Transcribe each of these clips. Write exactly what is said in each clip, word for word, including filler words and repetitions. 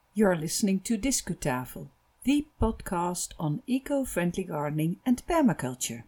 You're listening to Discutafel, the podcast on eco-friendly gardening and permaculture.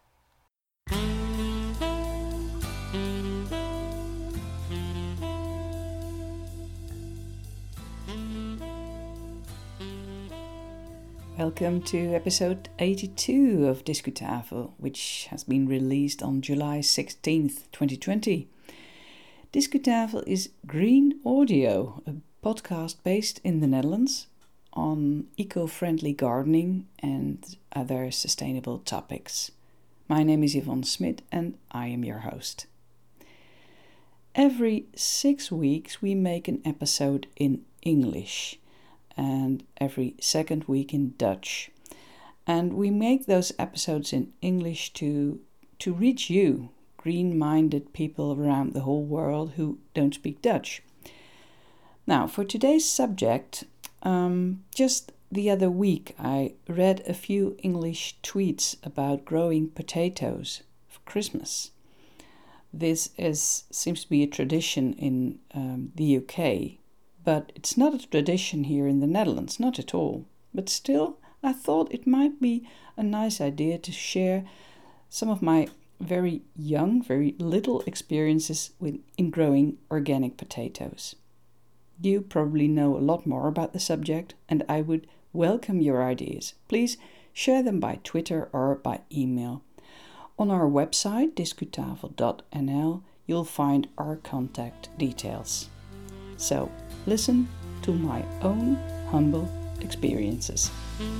Welcome to episode eighty-two of Discutafel, which has been released on July sixteenth, twenty twenty. Discutafel is green audio, a podcast based in the Netherlands on eco-friendly gardening and other sustainable topics. My name is Yvonne Smit and I am your host. Every six weeks we make an episode in English and every second week in Dutch. And we make those episodes in English to, to reach you, green-minded people around the whole world who don't speak Dutch. Now, for today's subject, um, just the other week I read a few English tweets about growing potatoes for Christmas. This is seems to be a tradition in um, the U K, but it's not a tradition here in the Netherlands, not at all. But still, I thought it might be a nice idea to share some of my very young, very little experiences with in growing organic potatoes. You probably know a lot more about the subject, and I would welcome your ideas. Please share them by Twitter or by email. On our website, discutafel dot n l, you'll find our contact details. So, listen to my own humble experiences.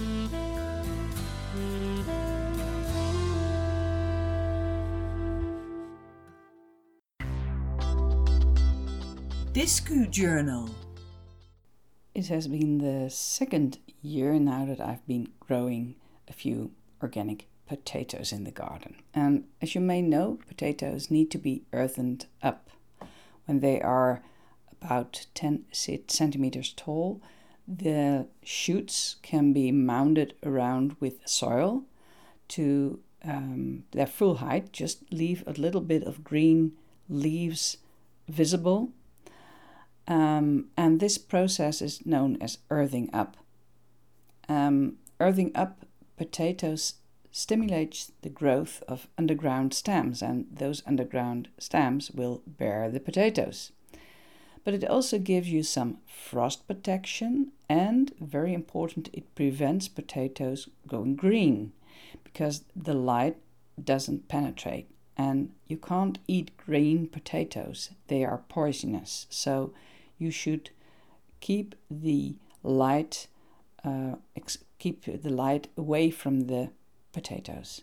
Discu Journal. It has been the second year now that I've been growing a few organic potatoes in the garden. And as you may know, potatoes need to be earthened up. When they are about ten centimeters tall, the shoots can be mounded around with soil to um, their full height. Just leave a little bit of green leaves visible. Um, and this process is known as earthing up. Um, earthing up potatoes stimulates the growth of underground stems, and those underground stems will bear the potatoes. But it also gives you some frost protection, and very important, it prevents potatoes going green because the light doesn't penetrate, and you can't eat green potatoes. They are poisonous. So you should keep the light uh, ex- keep the light away from the potatoes.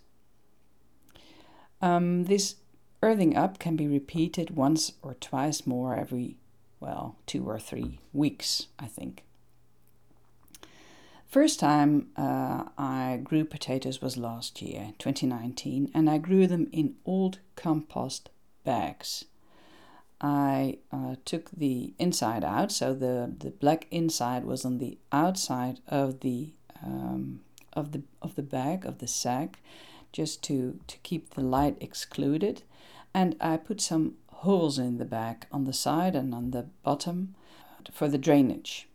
Um, this earthing up can be repeated once or twice more every, well, two or three weeks, I think. First time uh, I grew potatoes was last year, twenty nineteen, and I grew them in old compost bags. I uh, took the inside out, so the, the black inside was on the outside of the um, of the of the bag of the sack, just to, to keep the light excluded, and I put some holes in the bag on the side and on the bottom for the drainage.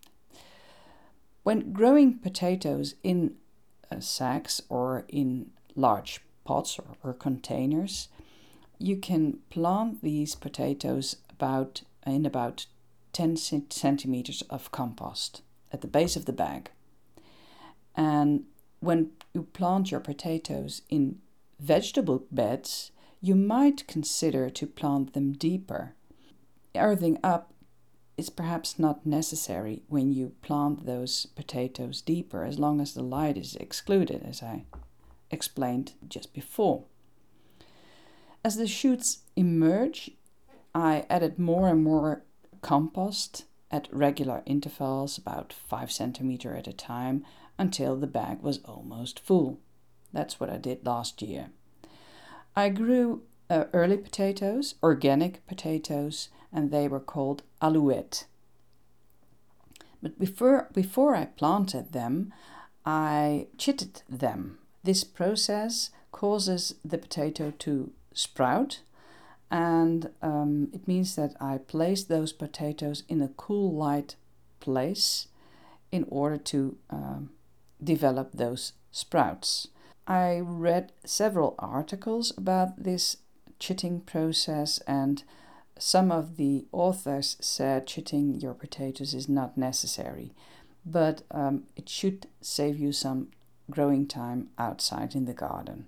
When growing potatoes in uh, sacks or in large pots or, or containers, you can plant these potatoes about in about ten centimeters of compost at the base of the bag. And when you plant your potatoes in vegetable beds, you might consider to plant them deeper. Earthing up is perhaps not necessary when you plant those potatoes deeper, as long as the light is excluded, as I explained just before. As the shoots emerge, I added more and more compost at regular intervals, about five centimeters at a time, until the bag was almost full. That's what I did last year. I grew uh, early potatoes, organic potatoes, and they were called alouette. But before, before I planted them, I chitted them. This process causes the potato to sprout, and um, it means that I place those potatoes in a cool light place in order to um, develop those sprouts. I read several articles about this chitting process, and some of the authors said chitting your potatoes is not necessary, but um, it should save you some growing time outside in the garden.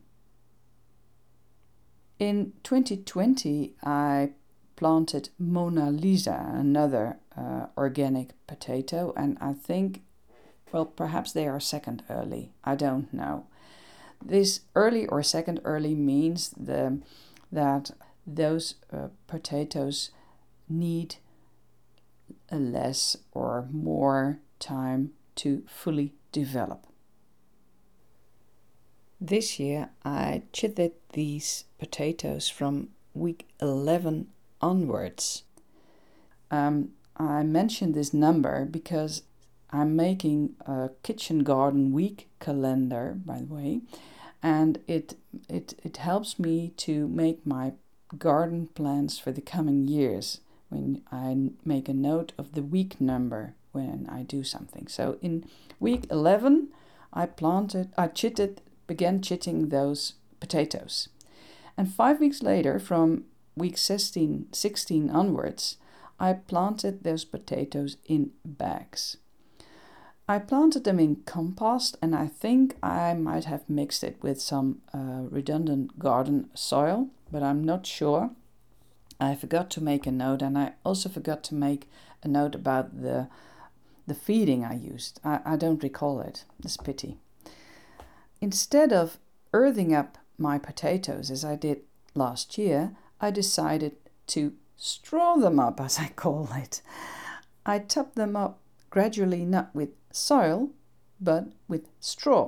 In twenty twenty, I planted Mona Lisa, another uh, organic potato, and I think, well, perhaps they are second early. I don't know. This early or second early means the, that those uh, potatoes need a less or more time to fully develop. This year I chitted these potatoes from week eleven onwards. Um, I mentioned this number because I'm making a kitchen garden week calendar, by the way, and it it it helps me to make my garden plans for the coming years when I make a note of the week number when I do something. So in week eleven, I planted, I chitted, began chitting those potatoes, and five weeks later, from week sixteen, sixteen onwards, I planted those potatoes in bags. I planted them in compost, and I think I might have mixed it with some uh, redundant garden soil, but I'm not sure. I forgot to make a note, and I also forgot to make a note about the the feeding I used. I, I don't recall it. It's a pity. Instead of earthing up my potatoes as I did last year, I decided to straw them up, as I call it. I topped them up gradually, not with soil, but with straw.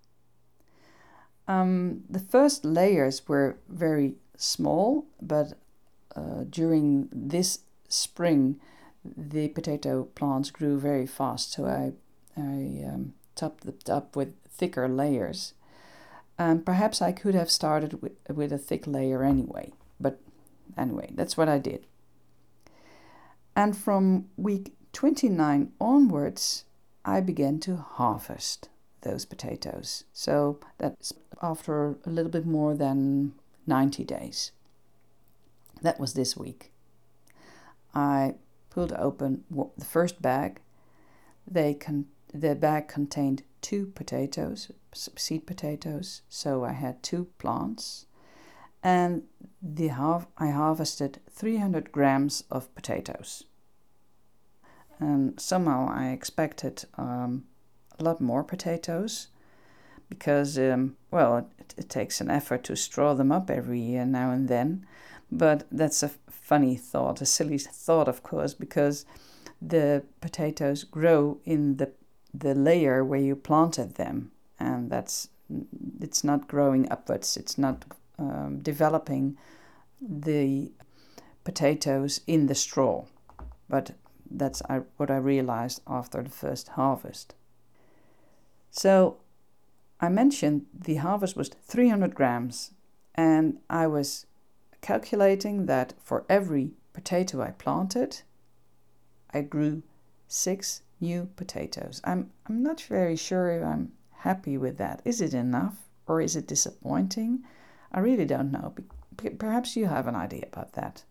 Um, the first layers were very small, but uh, during this spring, the potato plants grew very fast, so I, I um, topped it up with thicker layers. Um, perhaps I could have started with, with a thick layer anyway, but anyway, that's what I did. And from week twenty-nine onwards, I began to harvest those potatoes. So that's after a little bit more than ninety days. That was this week. I pulled open the first bag. They con- the bag contained two potatoes, seed potatoes, so I had two plants. And the har- I harvested three hundred grams of potatoes. And somehow I expected um, a lot more potatoes because, um, well, it, it takes an effort to straw them up every year now and then. But that's a funny thought, a silly thought, of course, because the potatoes grow in the the layer where you planted them, and that's it's not growing upwards. It's not um, developing the potatoes in the straw, but that's what I realized after the first harvest. So I mentioned the harvest was three hundred grams, and I was calculating that for every potato I planted, I grew six new potatoes. I'm I'm not very sure if I'm happy with that. Is it enough or is it disappointing? I really don't know. Perhaps you have an idea about that.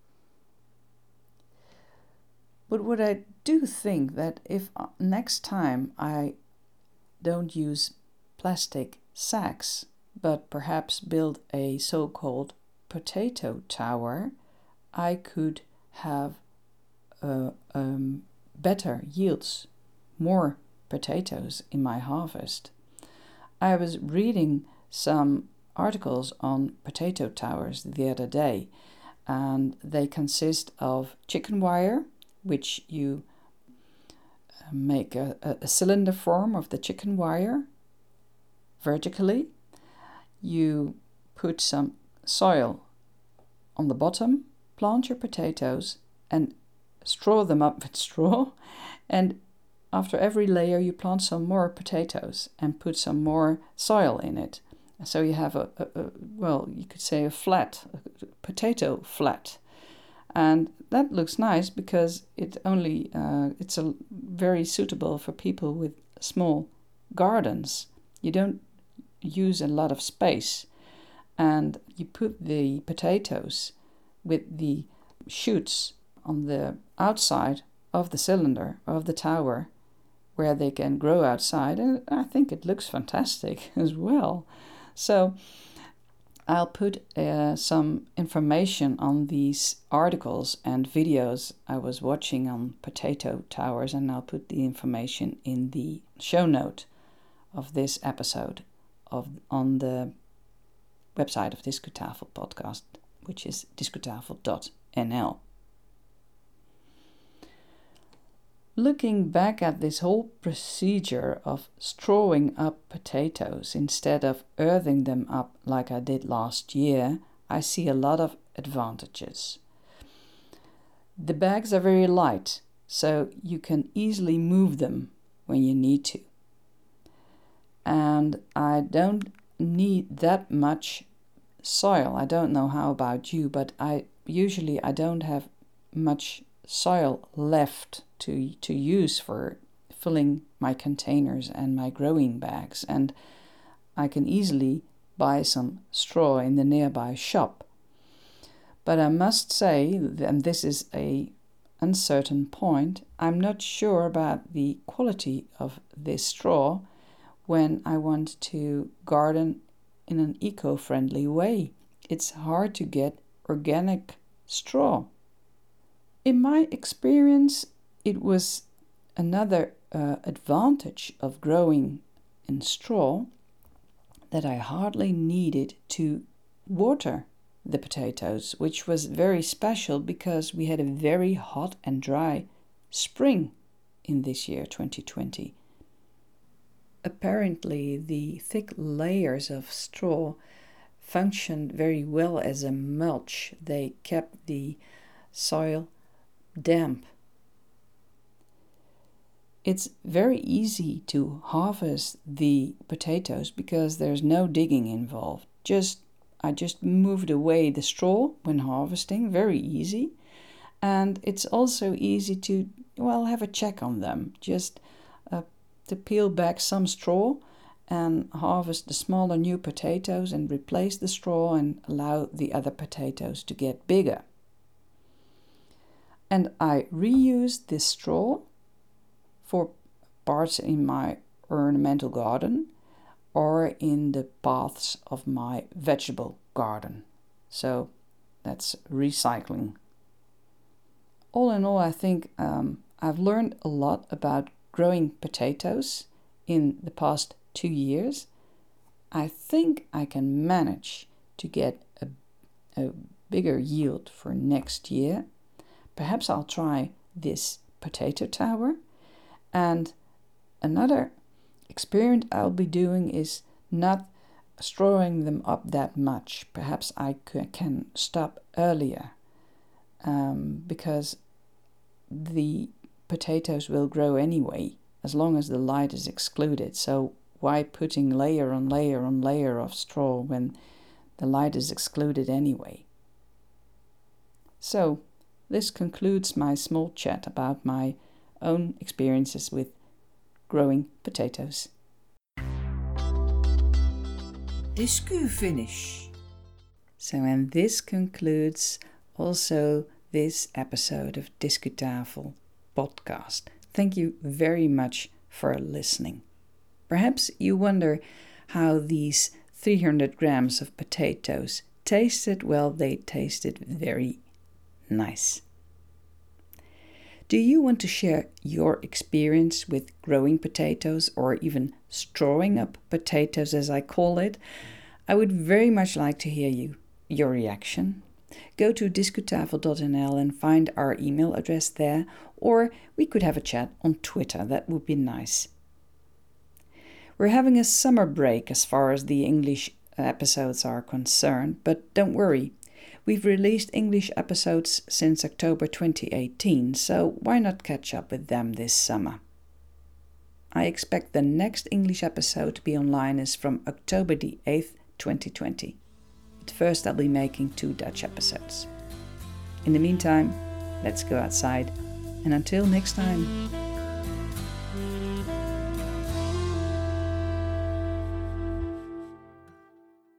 But what I do think that if next time I don't use plastic sacks, but perhaps build a so-called potato tower, I could have uh, um, better yields, more potatoes in my harvest. I was reading some articles on potato towers the other day, and they consist of chicken wire, which you make a, a cylinder form of the chicken wire vertically. You put some soil on the bottom, plant your potatoes, and straw them up with straw. And after every layer, you plant some more potatoes and put some more soil in it. So you have a, a, a well, you could say a flat, a potato flat. And that looks nice because it only uh, it's a very suitable for people with small gardens. You don't use a lot of space, and you put the potatoes with the shoots on the outside of the cylinder, of the tower, where they can grow outside, and I think it looks fantastic as well. So I'll put uh, some information on these articles and videos I was watching on potato towers, and I'll put the information in the show note of this episode of on the website of Discutafel podcast, which is discutafel dot n l. Looking back at this whole procedure of strawing up potatoes instead of earthing them up like I did last year, I see a lot of advantages. The bags are very light, so you can easily move them when you need to. And I don't need that much soil. I don't know how about you, but I usually I don't have much soil left to to use for filling my containers and my growing bags, and I can easily buy some straw in the nearby shop. But I must say, and this is a uncertain point, I'm not sure about the quality of this straw when I want to garden in an eco-friendly way. It's hard to get organic straw. In my experience, it was another uh, advantage of growing in straw that I hardly needed to water the potatoes, which was very special because we had a very hot and dry spring in this year, twenty twenty. Apparently, the thick layers of straw functioned very well as a mulch. They kept the soil damp. It's very easy to harvest the potatoes because there's no digging involved. Just I just moved away the straw when harvesting, very easy. And it's also easy to, well, have a check on them. Just uh, to peel back some straw and harvest the smaller new potatoes and replace the straw and allow the other potatoes to get bigger. And I reused this straw for parts in my ornamental garden or in the paths of my vegetable garden. So that's recycling. All in all, I think um, I've learned a lot about growing potatoes in the past two years. I think I can manage to get a, a bigger yield for next year. Perhaps I'll try this potato tower. And another experiment I'll be doing is not strawing them up that much. Perhaps I c- can stop earlier um, because the potatoes will grow anyway as long as the light is excluded. So why putting layer on layer on layer of straw when the light is excluded anyway? So this concludes my small chat about my own experiences with growing potatoes. Discu finish. So, and this concludes also this episode of Discutafel podcast. Thank you very much for listening. Perhaps you wonder how these three hundred grams of potatoes tasted. Well, they tasted very nice. Do you want to share your experience with growing potatoes or even strawing up potatoes, as I call it? I would very much like to hear you, your reaction. Go to discutafel dot n l and find our email address there, or we could have a chat on Twitter. That would be nice. We're having a summer break as far as the English episodes are concerned, but don't worry. We've released English episodes since October twenty eighteen, so why not catch up with them this summer? I expect the next English episode to be online is from October the eighth, twenty twenty. But first I'll be making two Dutch episodes. In the meantime, let's go outside, and until next time.